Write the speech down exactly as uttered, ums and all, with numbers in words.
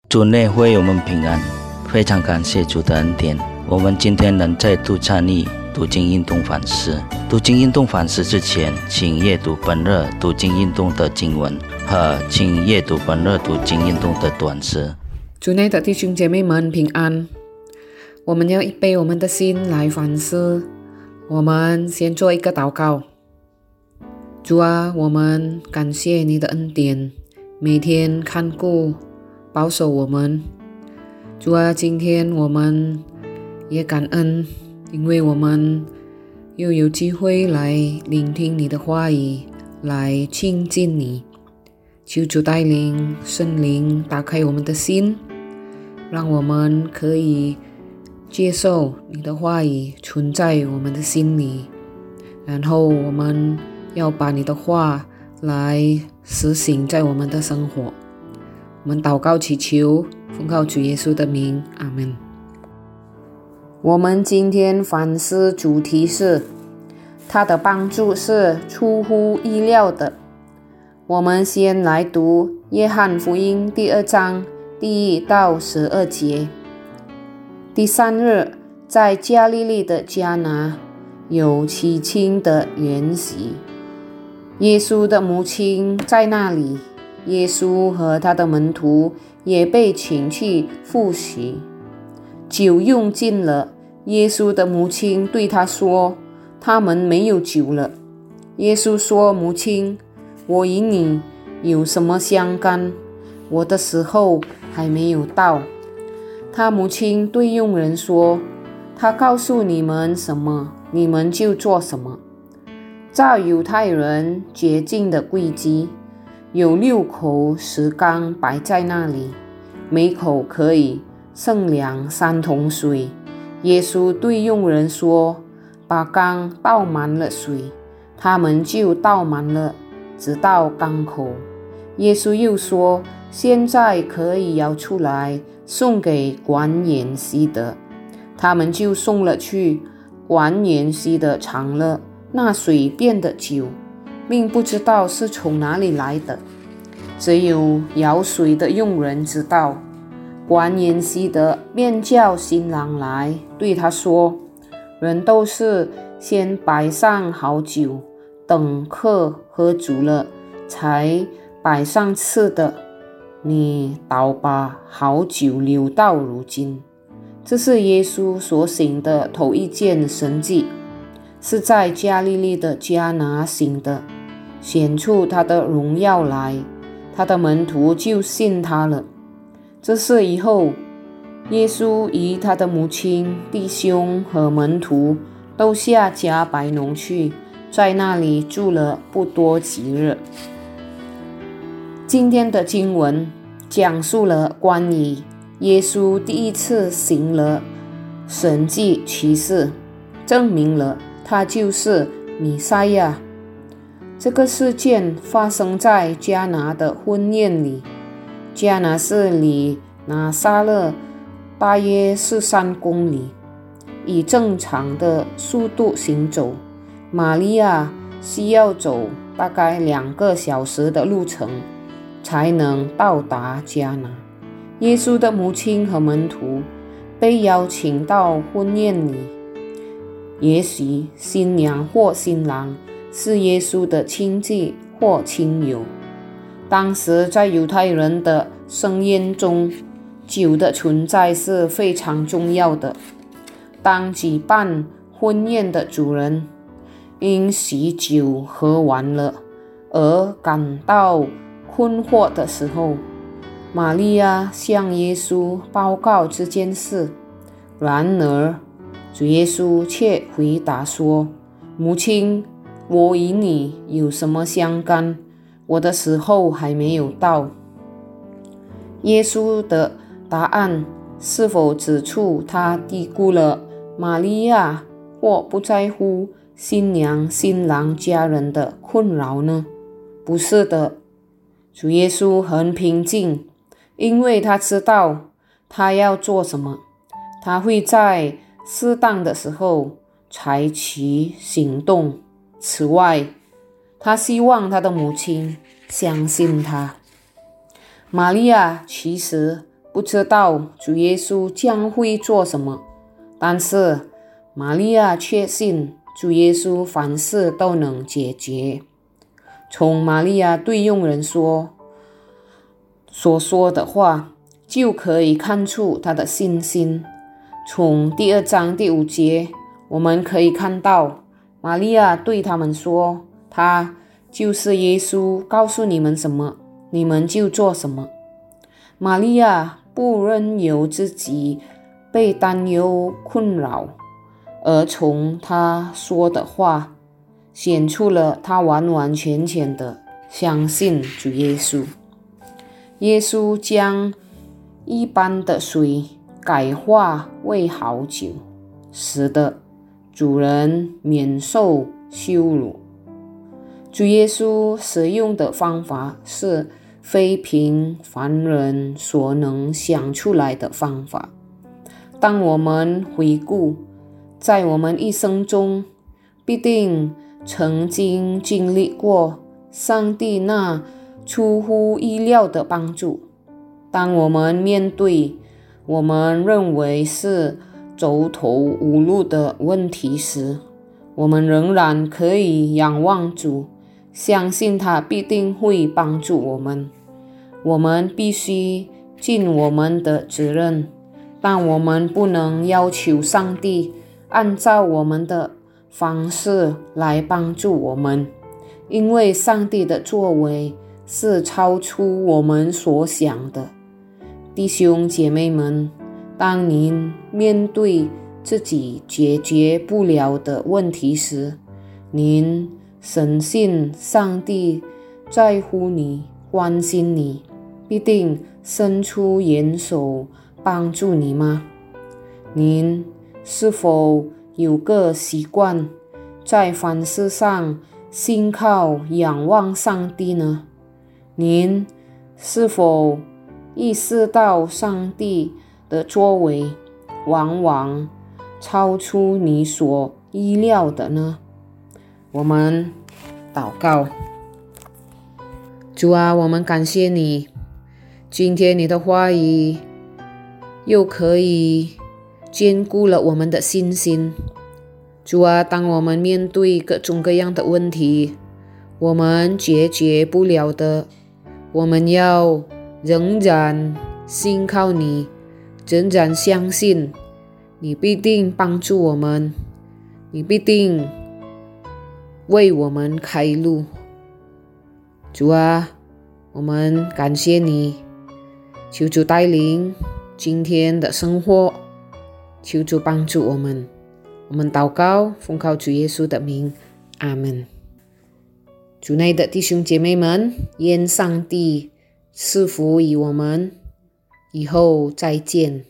主内会友们平安，非常感谢主的恩典。我们今天能再度参与读经运动反思。读经运动反思之前，请阅读本日读经运动的经文和请阅读本日读经运动的短诗。 主内的弟兄姐妹们平安。我们要预备我们的心来反思。我们先做一个祷告。主啊，我们感谢你的恩典，每天看顾保守我们。主啊，今天我们也感恩，因为我们又有机会来聆听你的话语，来亲近你。求主带领圣灵打开我们的心，让我们可以接受你的话语存在我们的心里，然后我们要把你的话来实行在我们的生活。我们祷告祈求，奉靠主耶稣的名，阿们。我们今天反思主题是他的帮助是出乎意料的。我们先来读约翰福音第二章第一到十二节。第三日，在加利利的迦拿有七庆的筵席，耶稣的母亲在那里，耶稣和他的门徒也被请去赴席。酒用尽了，耶稣的母亲对他说：“他们没有酒了。”耶稣说：“母亲，我与你有什么相干？我的时候还没有到。”他母亲对佣人说：“他告诉你们什么，你们就做什么。”照犹太人洁净的规矩，有六口石缸摆在那里，每口可以盛量三桶水。耶稣对佣人说：“把缸倒满了水。”他们就倒满了，直到缸口。耶稣又说：“现在可以舀出来，送给管筵席的。”他们就送了去。管筵席的尝了那水变的酒，并不知道是从哪里来的，只有舀水的佣人知道。管筵席的便叫新郎来，对他说：“人都是先摆上好酒，等客喝足了，才摆上次的。你倒把好酒留到如今。”这是耶稣所行的头一件神迹，是在加利利的迦拿行的，显出他的荣耀来，他的门徒就信他了。这事以后，耶稣与他的母亲、弟兄和门徒都下迦百农去，在那里住了不多几日。今天的经文讲述了关于耶稣第一次行了神迹奇事，证明了他就是弥赛亚。这个事件发生在迦拿的婚宴里。迦拿是离拿撒勒大约十三公里，以正常的速度行走，玛利亚需要走大概两个小时的路程才能到达迦拿。耶稣的母亲和门徒被邀请到婚宴里，也许新娘或新郎是耶稣的亲戚或亲友。当时在犹太人的盛宴中，酒的存在是非常重要的。当举办婚宴的主人因喜酒喝完了而感到困惑的时候，玛利亚向耶稣报告这件事。然而主耶稣却回答说：“母亲，我与你有什么相干？我的时候还没有到。”耶稣的答案是否指出他低估了玛利亚或不在乎新娘新郎家人的困扰呢？不是的，主耶稣很平静，因为他知道他要做什么，他会在适当的时候采取行动。此外，他希望他的母亲相信他。玛利亚其实不知道主耶稣将会做什么，但是玛利亚确信主耶稣凡事都能解决。从玛利亚对佣人说所说的话，就可以看出她的信心。从第二章第五节，我们可以看到玛利亚对他们说，他就是耶稣，告诉你们什么，你们就做什么。玛利亚不任由自己被担忧困扰，而从他说的话显出了他完完全全的相信主耶稣。耶稣将一般的水改化为好酒，使得主人免受羞辱。主耶稣使用的方法是非平凡人所能想出来的方法。当我们回顾在我们一生中，必定曾经经历过上帝那出乎意料的帮助。当我们面对我们认为是走投无路的问题时，我们仍然可以仰望主，相信他必定会帮助我们。我们必须尽我们的责任，但我们不能要求上帝按照我们的方式来帮助我们，因为上帝的作为是超出我们所想的。弟兄姐妹们，当您面对自己解决不了的问题时，您深信上帝在乎你，关心你，必定伸出援手帮助你吗？您是否有个习惯，在凡事上信靠仰望上帝呢？您是否意识到上帝的作为往往超出你所意料的呢？我们祷告。主啊，我们感谢你，今天你的话语又可以坚固了我们的信心。主啊，当我们面对各种各样的问题，我们解决不了的，我们要仍然信靠你，仍然相信你必定帮助我们，你必定为我们开路。主啊，我们感谢你，求主带领今天的生活，求主帮助我们。我们祷告，奉靠主耶稣的名，阿们。主内的弟兄姐妹们，愿上帝赐福于我们，以后再见。